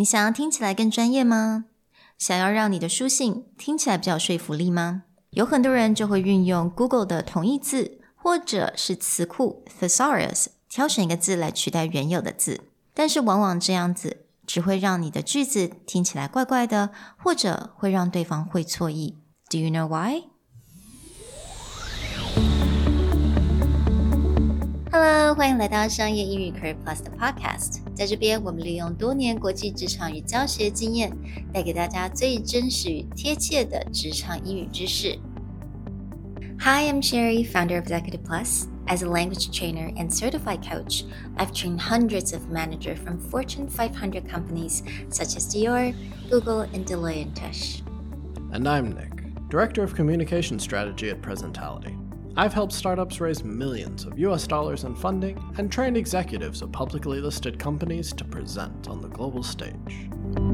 你想要聽起來更專業嗎？想要讓你的書信聽起來比較有說服力嗎？有很多人就會運用 Google 的同義字或者是詞庫 Thesaurus 挑選一個字來取代原有的字，但是往往這樣子只會讓你的句子聽起來怪怪的，或者會讓對方會錯意。Do you know why?Hello， 歡迎來到商業英語 Career Plus 的 Podcast。在這邊，我們利用多年國際職場與教學經驗，帶給大家最真實與貼切的職場英語知識。Hi, I'm Sherry, founder of Executive Plus. As a language trainer and certified coach, I've trained hundreds of managers from Fortune 500 companies such as Dior, Google, and Deloitte & Touche. And I'm Nick, Director of Communication Strategy at Presentality.I've helped startups raise millions of US dollars in funding and trained executives of publicly listed companies to present on the global stage.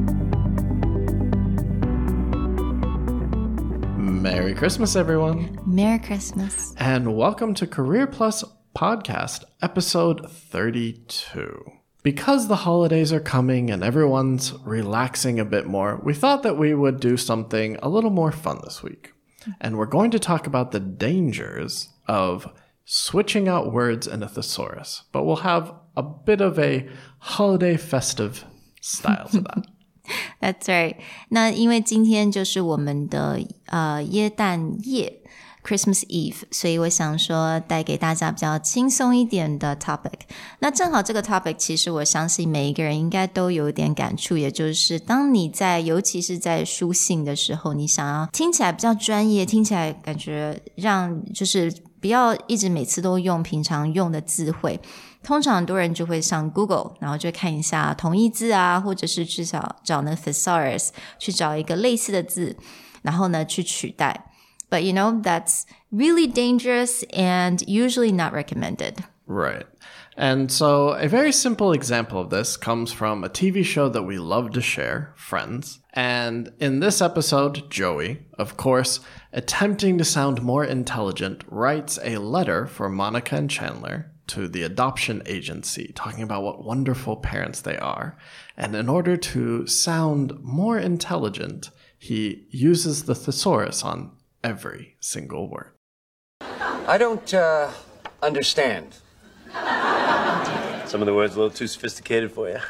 Merry Christmas, everyone. Merry Christmas. And welcome to Career Plus Podcast, episode 32. Because the holidays are coming and everyone's relaxing a bit more, we thought that we would do something a little more fun this week.And we're going to talk about the dangers of switching out words in a thesaurus, but we'll have a bit of a holiday festive style to that. That's right. 那因為今天就是我們的耶誕夜 Christmas Eve， 所以我想說帶給大家比較輕鬆一點的 topic。那正好這個 topic 其實我相信每一個人應該都有點感觸，也就是當你尤其是在書信的時候，你想要聽起來比較專業，聽起來感覺讓就是不要一直每次都用平常用的字彙，通常很多人就會上 Google， 然後就看一下同義字啊，或者是至少找那 thesaurus 去找一個類似的字，然後呢去取代。But you know, that's really dangerous and usually not recommended. Right. And so a very simple example of this comes from a TV show that we love to share, Friends. And in this episode, Joey, of course, attempting to sound more intelligent, writes a letter for Monica and Chandler to the adoption agency, talking about what wonderful parents they are. And in order to sound more intelligent, he uses the thesaurus on every single word. I don't understand. Some of the words a little too sophisticated for you.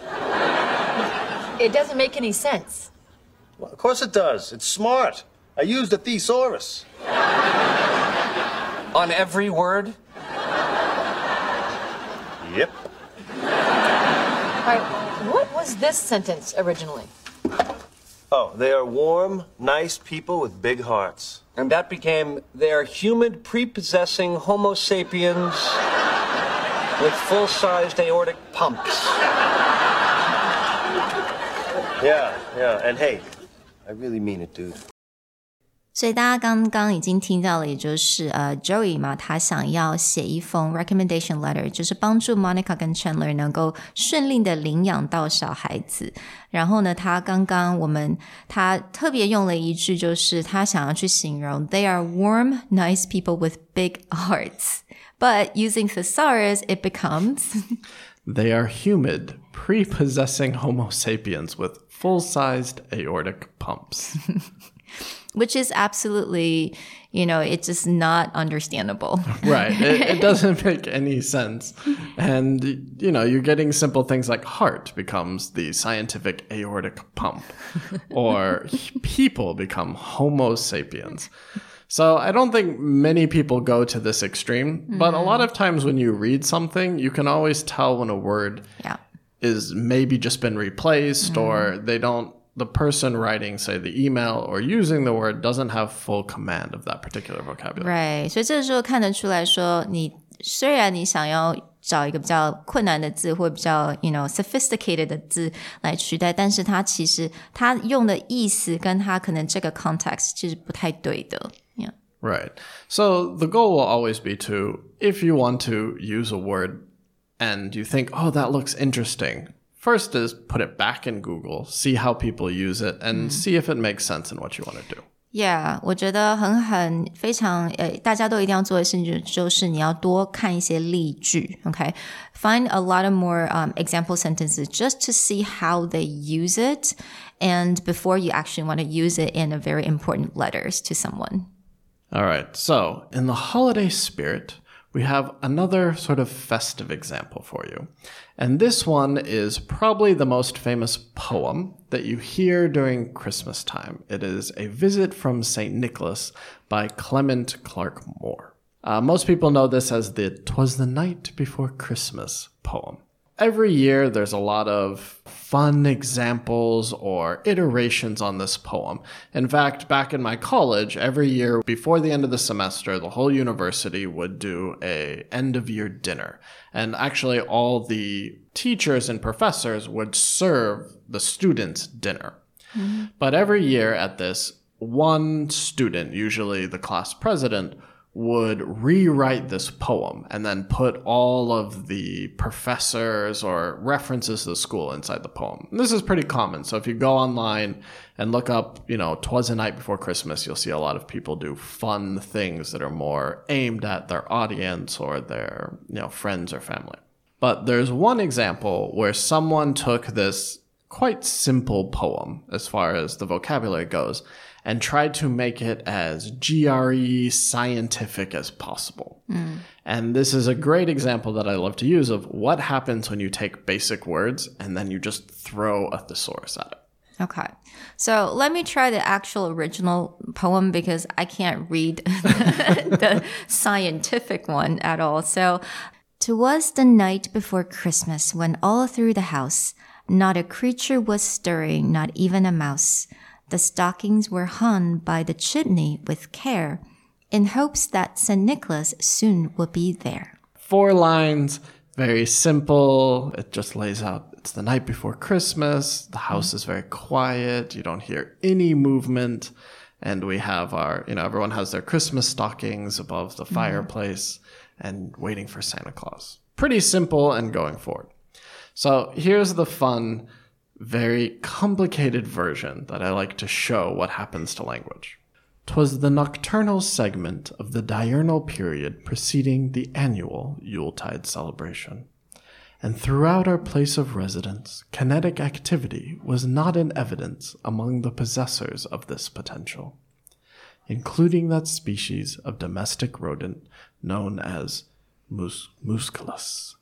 It doesn't make any sense. Well, of course it does. It's smart. I used a thesaurus. On every word? Yep. All right, what was this sentence originally? Oh, they are warm, nice people with big hearts. And that became, they are humid, prepossessing Homo sapiens with full-sized aortic pumps. Yeah. And hey, I really mean it, dude. 所以大家刚剛已經聽到了，也就是Joey 嘛，他想要寫一封 recommendation letter， 就是幫助 Monica 跟 Chandler 能夠順利的領養到小孩子。然後呢，他特別用了一句，就是他想要去形容 They are warm, nice people with big hearts. But using thesaurus, it becomes They are humid, prepossessing Homo sapiens with full-sized aortic pumps. Which is absolutely, it's just not understandable. Right. It doesn't make any sense. And, you're getting simple things like heart becomes the scientific aortic pump. Or people become Homo sapiens. So I don't think many people go to this extreme. But a lot of times when you read something, you can always tell when a word is maybe just been replaced or the person writing, say, the email or using the word doesn't have full command of that particular vocabulary. Right. 所以這個時候看得出來說，雖然你想要找一個比較困難的字或比較sophisticated 的字來取代，但是它其實它用的意思跟它可能這個 context 其實不太對的。Yeah. Right. So the goal will always be to, if you want to use a word and you think, oh, that looks interesting, first is put it back in Google, see how people use it, and see if it makes sense in what you want to do. Yeah, 我覺得非常大家都一定要做的事情就是你要多看一些例句 okay? Find a lot of more example sentences just to see how they use it and before you actually want to use it in a very important letters to someone. All right, so in the holiday spirit, we have another sort of festive example for you. And this one is probably the most famous poem that you hear during Christmas time. It is A Visit from St. Nicholas by Clement Clarke Moore. Most people know this as the 'Twas the Night Before Christmas poem. Every year, there's a lot of fun examples or iterations on this poem. In fact, back in my college, every year before the end of the semester, the whole university would do a end-of-year dinner. And actually, all the teachers and professors would serve the students dinner. Mm-hmm. But every year at this, one student, usually the class president, would rewrite this poem and then put all of the professors or references to the school inside the poem. And this is pretty common. So if you go online and look up, 'Twas the Night Before Christmas, you'll see a lot of people do fun things that are more aimed at their audience or their, friends or family. But there's one example where someone took this quite simple poem as far as the vocabulary goes and tried to make it as GRE scientific as possible. And this is a great example that I love to use of what happens when you take basic words and then you just throw a thesaurus at it. Okay. So let me try the actual original poem because I can't read the scientific one at all. So, 'Twas the night before Christmas when all through the house not a creature was stirring, not even a mouse. The stockings were hung by the chimney with care, in hopes that St. Nicholas soon would be there. 4 lines, very simple. It just lays out, it's the night before Christmas. The house is very quiet. You don't hear any movement. And we have everyone has their Christmas stockings above the fireplace and waiting for Santa Claus. Pretty simple and going forward. So here's the fun, very complicated version that I like to show what happens to language. 'Twas the nocturnal segment of the diurnal period preceding the annual Yuletide celebration. And throughout our place of residence, kinetic activity was not in evidence among the possessors of this potential, including that species of domestic rodent known as musculus.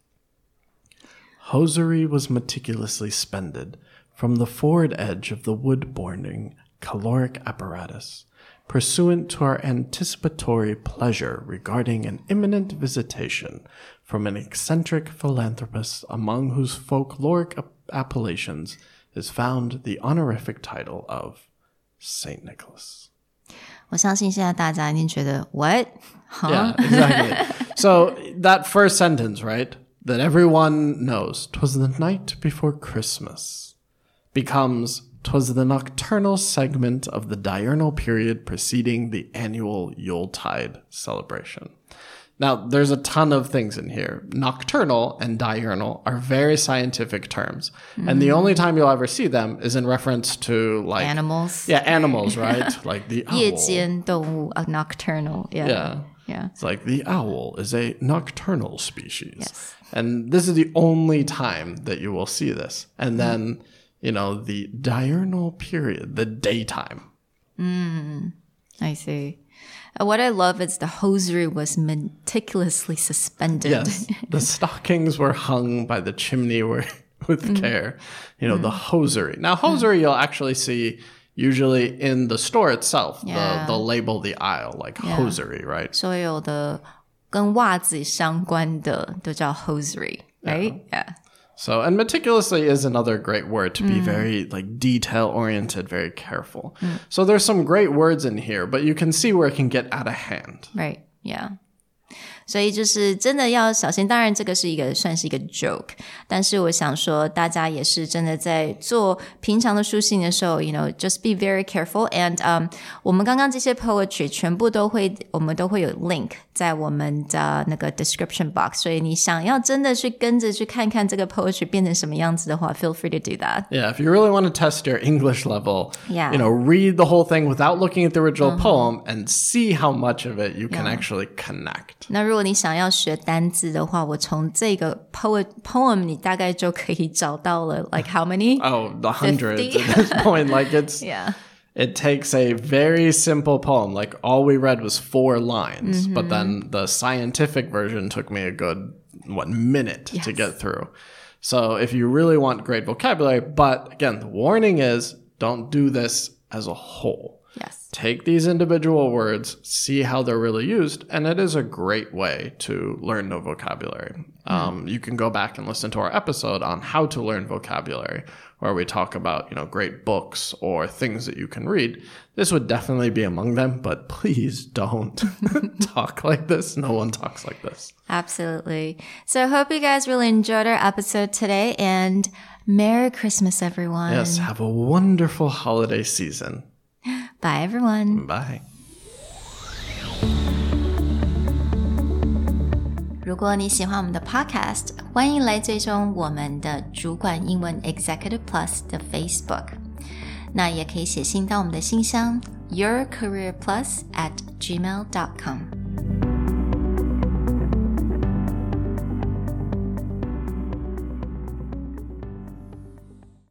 Hosiery was meticulously spended from the forward edge of the wood-burning caloric apparatus, pursuant to our anticipatory pleasure regarding an imminent visitation from an eccentric philanthropist among whose folkloric appellations is found the honorific title of St. Nicholas. 我相信现在大家一定覺得 what? Huh? Yeah, exactly. So that first sentence, right? That everyone knows, 'twas the night before Christmas, becomes 'twas the nocturnal segment of the diurnal period preceding the annual Yuletide celebration. Now, there's a ton of things in here. Nocturnal and diurnal are very scientific terms. And the only time you'll ever see them is in reference to like... Animals. Yeah, animals, right? Like the owl. 夜间动物, nocturnal. Yeah. It's like the owl is a nocturnal species. Yes. And this is the only time that you will see this. And then, the diurnal period, the daytime. I see. What I love is the hosiery was meticulously suspended. Yes. The stockings were hung by the chimney with care. The hosiery. Now, hosiery you'll actually see usually in the store itself. They'll label the aisle like hosiery, right? 所有的跟袜子相關的都叫 hosiery, right? Yeah. So, and meticulously is another great word to be very like detail-oriented, very careful. So there's some great words in here, but you can see where it can get out of hand. Right, yeah. 所以就是真的要小心。当然这個是算是一個 joke， 但是我想說大家也是真的在做平常的書信的時候 you know just be very careful and 我們剛剛這些 poetry 全部我們都會有 link 在我們的那個 description box， 所以你想要真的去跟着去看看這個 poetry 變成什麼樣子的話 feel free to do that. Yeah, if you really want to test your English level, Yeah. you know, read the whole thing without looking at the original poem and see how much of it you can actually connect. 那如果你想要學單字的話，我從這個 poem 你大概就可以找到了 like how many? Oh, the hundreds at this point. Like Yeah. It takes a very simple poem. Like all we read was 4 lines, but then the scientific version took me a good, minute to get through. So if you really want great vocabulary, but again, the warning is don't do this as a whole. Yes. Take these individual words, see how they're really used, and it is a great way to learn new vocabulary. You can go back and listen to our episode on how to learn vocabulary, where we talk about, you know, great books or things that you can read. This would definitely be among them, but please don't talk like this. No one talks like this. Absolutely. So I hope you guys really enjoyed our episode today, and Merry Christmas, everyone. Yes, have a wonderful holiday season. Bye, everyone. Bye. 如果你喜歡我們的 podcast， 歡迎來追蹤我們的主管英文 Executive Plus 的 Facebook。那也可以寫信到我們的信箱 yourcareerplus@gmail.com。